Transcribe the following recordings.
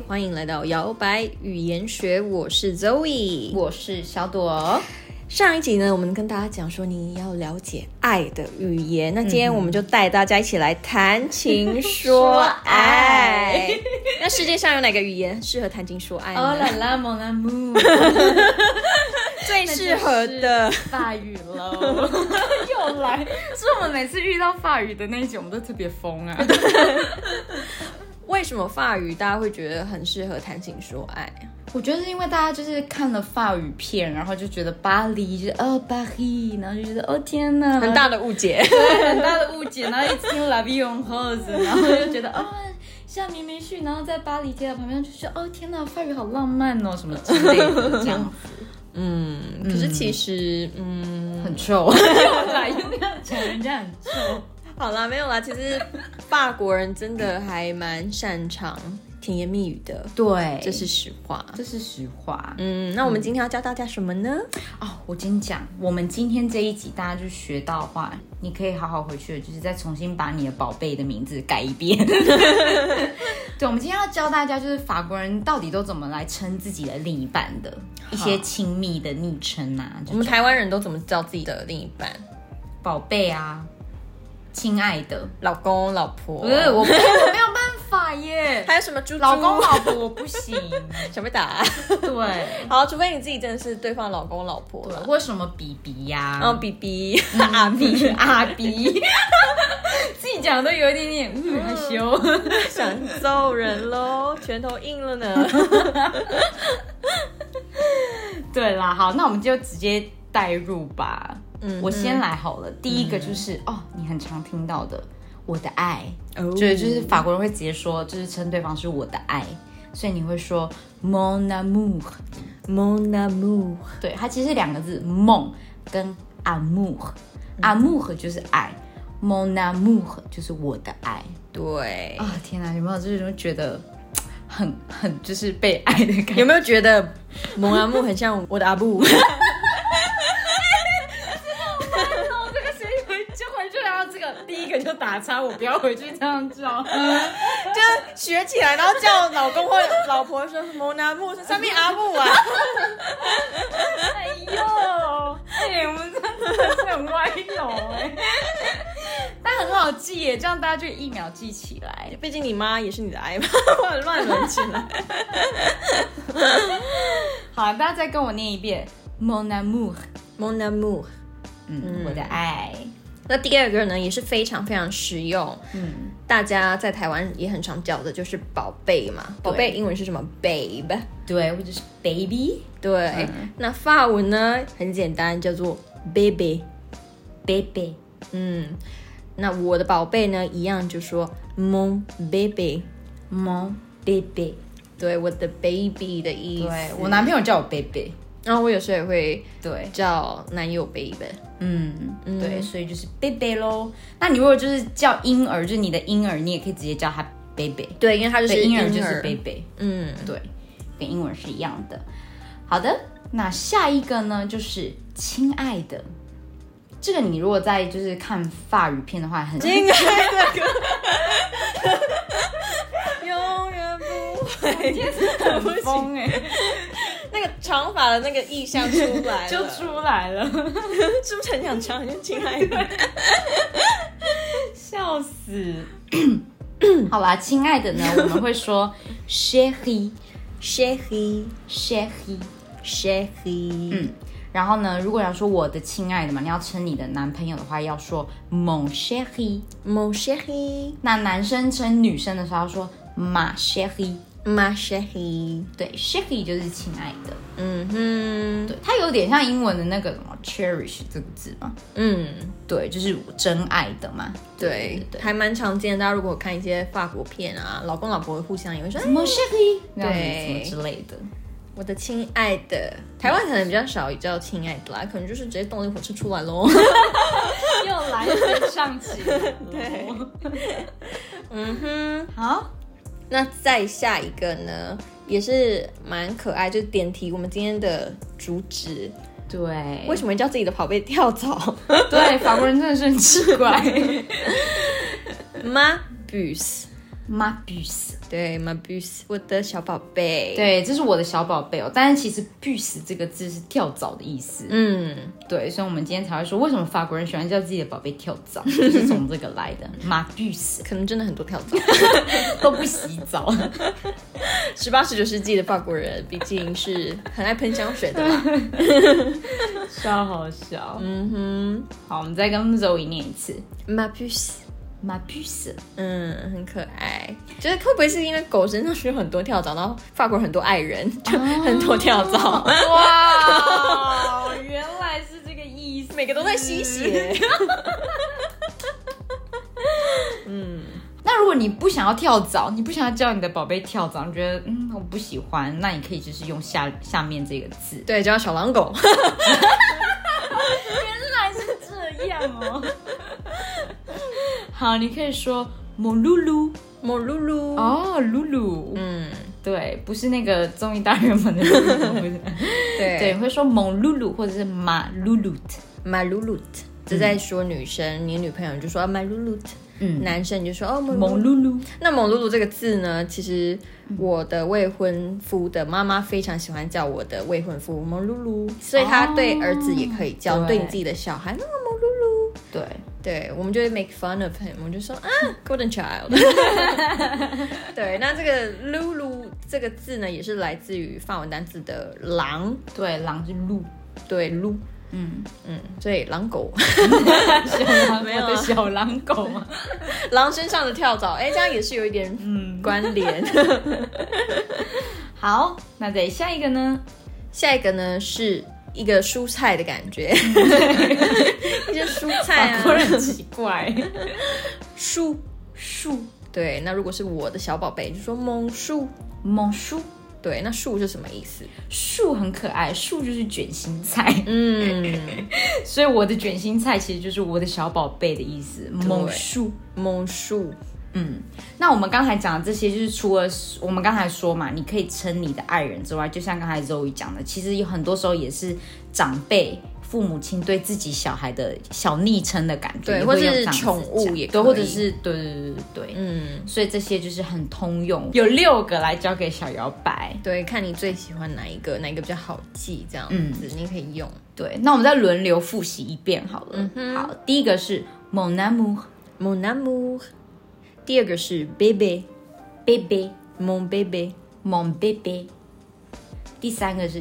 欢迎来到摇摆语言学，我是 Zoe， 我是小朵。 上一集呢，我们跟大家讲说你要了解爱的语言，那今天我们就带大家一起来谈情说爱。那世界上有哪个语言适合谈情说爱呢？ 哦啦啦mon amour， 最适合的法语喽，又来，是我们每次遇到法语的那一集，我们都特别疯啊。 为什么法语大家会觉得很适合谈情说爱？ 我觉得是因为大家就是看了法语片，然后就觉得巴黎就是巴黎，然后就觉得哦天哪， 很大的误解， 对，很大的误解。然后一听 La Vie en Rose， 然后就觉得下明明旭，然后在巴黎铁塔旁边就觉得天哪，法语好浪漫哦，什么之类的这样子。 可是其实很臭，又来又要讲人家很臭。 好啦，没有啦，其实法国人真的还蛮擅长甜言蜜语的， 对， 这是实话， 这是实话。 那我们今天要教大家什么呢？ 我跟你讲，我们今天这一集大家就学到的话，你可以好好回去，就是再重新把你的宝贝的名字改一遍。对，我们今天要教大家，就是法国人到底都怎么来称自己的另一半的一些亲密的昵称啊。 我们台湾人都怎么叫自己的另一半？ 宝贝啊，亲爱的， 老公、老婆。 不是，我没有办法耶。 还有什么猪猪？ 老公、老婆我不行， 想被打。 对， 好，除非你自己真的是对方老公、老婆。 对，或什么比比呀， 比比、阿比、 阿比，自己讲的都有一点点害羞， 想揍人咯，拳头硬了呢。 对啦，好，那我们就直接带入吧。我先来好了。第一个就是你很常听到的我的爱，就是法国人会直接说，就是称对方是我的爱，所以你会说 mon amour。mon amour， 对，它其实是两个字 mon 跟 amour，amour 就是爱，mon amour 就是我的爱。 对天哪，有没有这种觉得很就是被爱的感觉？ 有没有觉得 mon amour 很像我的阿布？ 第一个就打叉，我不要回去这样叫， 就学起来，然后叫老公或老婆说蒙阿木是上面阿木啊。 哎呦，我们真的是很歪楼但很好记耶，这样大家就一秒记起来。 毕竟你妈也是你的爱嘛，乱伦起来。 好，大家再跟我念一遍 mon amour，mon amour， 我的爱。 那第二个呢，也是非常非常实用，大家在台湾也很常叫的，就是宝贝嘛。宝贝英文是什么 ？babe， 对，或者是 baby， 对。那法文呢，很简单，叫做 baby。那我的宝贝呢，一样就说 mon baby，mon baby。对，我的 baby 的意思。 对，我男朋友叫我 baby。 然后我有时候也会对叫男友 baby， 对，所以就是 baby 咯。那你如果就是叫婴儿，就是你的婴儿，你也可以直接叫他 baby。 对，因为他就是婴儿就是 baby。对，跟英文是一样的。好的，那下一个呢就是亲爱的。这个你如果在就是看法语片的话，很亲爱的。永远不会， 今天是很疯那个长发的那个意象出来了， 就出来了， 是不是很想唱？就亲爱的， 笑死！好啦，亲爱的呢，我们会说 chérie， 然后呢，如果要说我的亲爱的嘛，你要称你的男朋友的话，要说 mon chéri。那男生称女生的时候要说 ma chérie。对 chérie 就是亲爱的。对，它有点像英文的那个什么 cherish 这个字嘛。对，就是真爱的嘛。 对，还蛮常见的。大家如果看一些法国片啊，老公老婆互相也会说 mon chérie， 对， 什么之类的。 我的亲爱的，台湾可能比较少叫亲爱的啦，可能就是直接动力火车出来咯。 又来升上起来了。 对， 好， 那再下一个呢，也是蛮可爱，就是点题我们今天的主旨。 对， 为什么叫自己的宝贝跳蚤？ 对，法国人真的是很奇怪。 Ma bus， ma puce， 对 ma puce， 我的小宝贝。 对，这是我的小宝贝哦。但是其实 puce 这个字是跳蚤的意思。对，所以我们今天才会说，为什么法国人喜欢叫自己的宝贝跳蚤，就是从这个来的 ma puce。 可能真的很多跳蚤都不洗澡。 18、19世纪的法国人毕竟是很爱喷香水的啦。 超好笑。好，我们再跟 Zoe 念一次 ma puce。 ma puce， 很可爱。就是会不会是因为狗身上有很多跳蚤，然后法国很多爱人，就很多跳蚤？ 哇，原来是这个意思， 每个都在吸血。 那如果你不想要跳蚤，你不想要教你的宝贝跳蚤，你觉得我不喜欢，那你可以就是用下面这个字， 对，叫小狼狗。 原来是这样哦。好，你可以说mon loulou， mon loulou。 哦，loulou。对，不是那个综艺大热门的 loulou。对，会说 mon loulou 或者是 ma louloute。ma louloute， 这在说女生，你女朋友就说ma louloute。男生你就说 mon loulou。 那mon loulou这个字呢，其实我的未婚夫的妈妈非常喜欢叫我的未婚夫mon loulou，所以他对儿子也可以叫，对你自己的小孩那个mon loulou。对，我们就会 make fun of him， 我们就说golden child。对，那这个 loulou 这个字呢，也是来自于法文单字的狼。 对，狼是鹿。 对，鹿。所以狼狗。 小狼，没有的小狼狗吗？ 狼身上的跳蚤，这样也是有一点关联。 好，那再下一个呢？ 下一个呢是一个蔬菜的感觉。一些蔬菜啊， 很奇怪。 树，对，那如果是我的小宝贝，就说mon chou。对，那树是什么意思？ 树很可爱，树就是卷心菜。所以我的卷心菜其实就是我的小宝贝的意思。mon chou。那我们刚才讲的这些，就是除了我们刚才说嘛，你可以称你的爱人之外，就像刚才 Zoe 讲的，其实有很多时候也是长辈、父母亲对自己小孩的小昵称的感觉， 对，或者是宠物也可以， 对，或者是对，所以这些就是很通用。有6个来教给小摇摆， 对，看你最喜欢哪一个比较好记，这样子你可以用。 对，那我们再轮流复习一遍好了。好，第一个是 mon amour，mon amour。第二个是 bébé，mon bébé，mon bébé。第三个是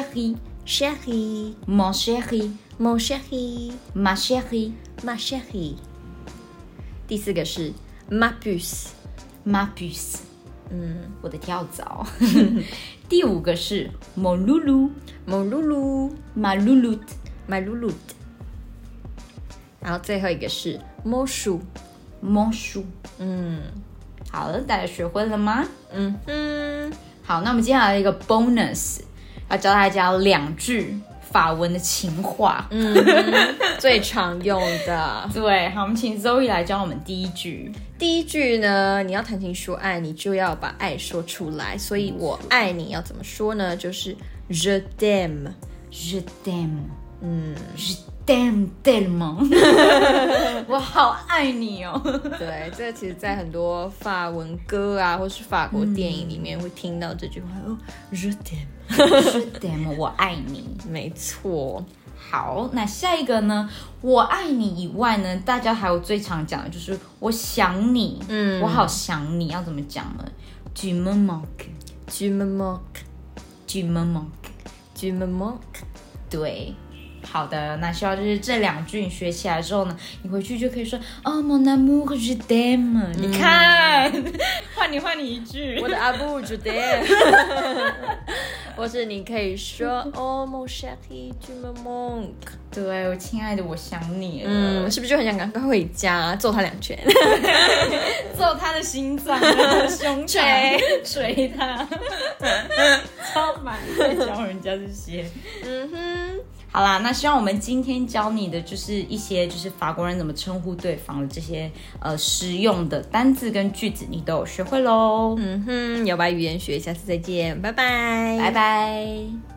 chérie，mon chérie，mon chérie，ma chérie，ma chérie。第四个是 ma puce，ma puce，我的跳蚤。第五个是 mon loulou，mon loulou，ma louloute，ma louloute。然后最后一个是 mon chou，mon chou。好了，大家学会了吗？好，那我们接下来一个 bonus， 要教大家2句法文的情话， 最常用的。 对，好，我们请 Zoe 来教我们第一句。 第一句呢，你要谈情说爱，你就要把爱说出来。所以我爱你要怎么说呢？就是 je t'aime，je t'aime，je t'aime tellement， 我好爱你哦。 对，这其实在很多法文歌啊，或是法国电影里面会听到这句话，je t'aime，je t'aime， 我爱你。 没错。 好，那下一个呢？我爱你以外呢，大家还有最常讲的就是我想你，我好想你，要怎么讲呢？ Tu me manques，tu me manques，tu me manques，tu me manques。 对。好的，那希望就是这2句你学起来之后呢，你回去就可以说mon amour je t'aime。你看，换你一句， 我的阿布 je t'aime。或是你可以说mon chéri tu me manques。 对，我亲爱的，我想你了。 是不是就很想赶快回家揍他2拳， 揍他的心脏，胸膛，捶他，超满在教人家这些。好啦，那希望我们今天教你的就是一些就是法国人怎么称呼对方的这些实用的单字跟句子，你都有学会咯。 摇摆语言学，下次再见，拜拜， 拜拜。